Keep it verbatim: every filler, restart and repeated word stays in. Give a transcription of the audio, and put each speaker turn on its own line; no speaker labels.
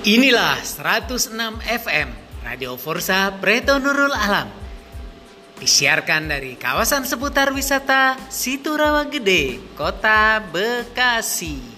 Inilah seratus enam F M Radio Forza Preto Nurul Alam. Disiarkan dari kawasan seputar wisata Situ Rawa Gede, Kota Bekasi.